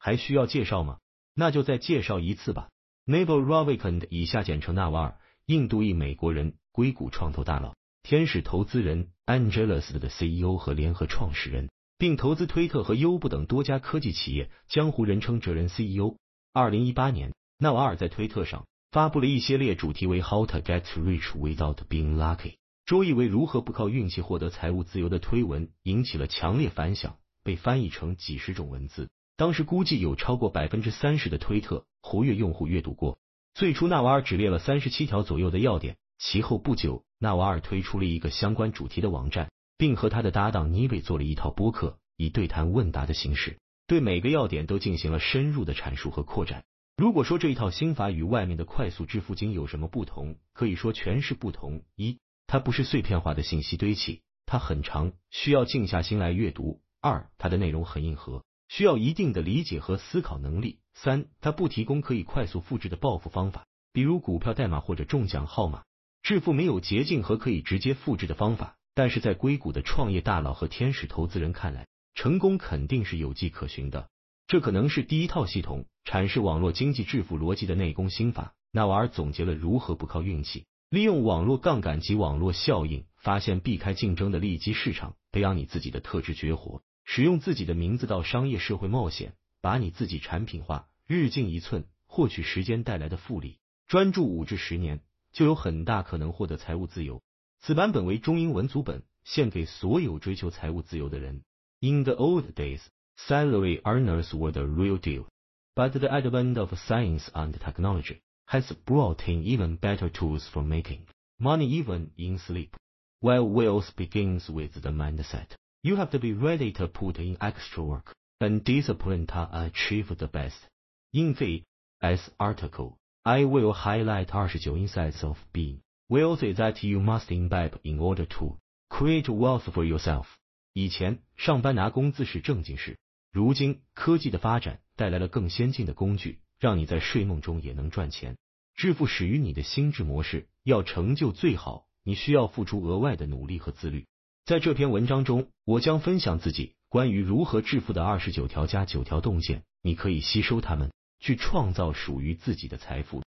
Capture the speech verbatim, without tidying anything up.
还需要介绍吗？那就再介绍一次吧。Naval Ravikant 以下简称纳瓦尔，印度裔美国人，硅谷创投大佬，天使投资人 Angelus 的 C E O 和联合创始人，并投资推特和优步等多家科技企业，江湖人称哲人 C E O。二零一八年，纳瓦尔在推特上发布了一系列主题为 How to get rich without being lucky， 周译为如何不靠运气获得财务自由的推文，引起了强烈反响，被翻译成几十种文字。当时估计有超过 百分之三十 的推特活跃用户阅读过。最初纳瓦尔只列了三十七条左右的要点，其后不久，纳瓦尔推出了一个相关主题的网站，并和他的搭档尼维做了一套播客，以对谈问答的形式，对每个要点都进行了深入的阐述和扩展。如果说这一套心法与外面的快速致富经有什么不同，可以说全是不同。一，它不是碎片化的信息堆砌，它很长，需要静下心来阅读。二，它的内容很硬核，需要一定的理解和思考能力。三，它不提供可以快速复制的暴富方法，比如股票代码或者中奖号码。致富没有捷径和可以直接复制的方法，但是在硅谷的创业大佬和天使投资人看来，成功肯定是有迹可循的。这可能是第一套系统阐释网络经济致富逻辑的内功心法。纳瓦尔总结了如何不靠运气，利用网络杠杆及网络效应，发现避开竞争的利基市场，培养你自己的特质绝活，使用自己的名字到商业社会冒险，把你自己产品化，日进一寸，获取时间带来的复利，专注五至十年，就有很大可能获得财务自由。此版本为中英文组本，献给所有追求财务自由的人。In the old days, salary earners were the real deal, but the advent of science and technology has brought in even better tools for making money even in sleep. While wealth begins with the mindset, you have to be ready to put in extra work and discipline to achieve the best. In the S article, I will highlight 二十九 insights of being wealthy that you must imbibe in order to create wealth for yourself. 以前上班拿工资是正经事，如今科技的发展带来了更先进的工具，让你在睡梦中也能赚钱。致富始于你的心智模式，要成就最好，你需要付出额外的努力和自律。在这篇文章中，我将分享自己关于如何致富的二十九条加九条洞见，你可以吸收它们，去创造属于自己的财富。